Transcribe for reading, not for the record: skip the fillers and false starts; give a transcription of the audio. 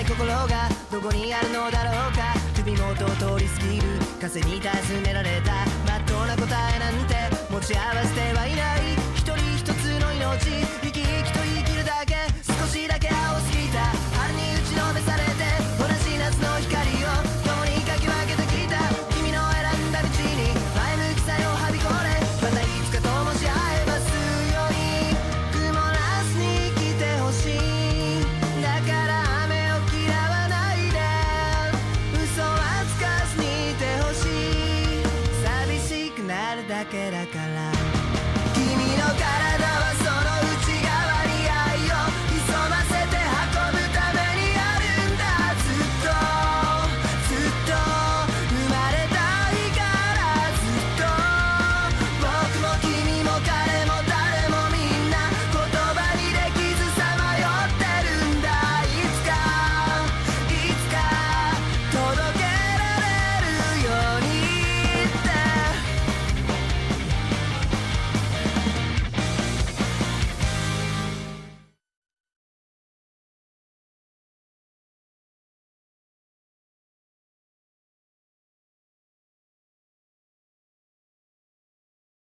ない心がどこにあるのだろうか。首元を通り過ぎる風に尋ねられたまっとうな答えなんて持ち合わせてはいない。一人一つの命生き生きと生きるだけ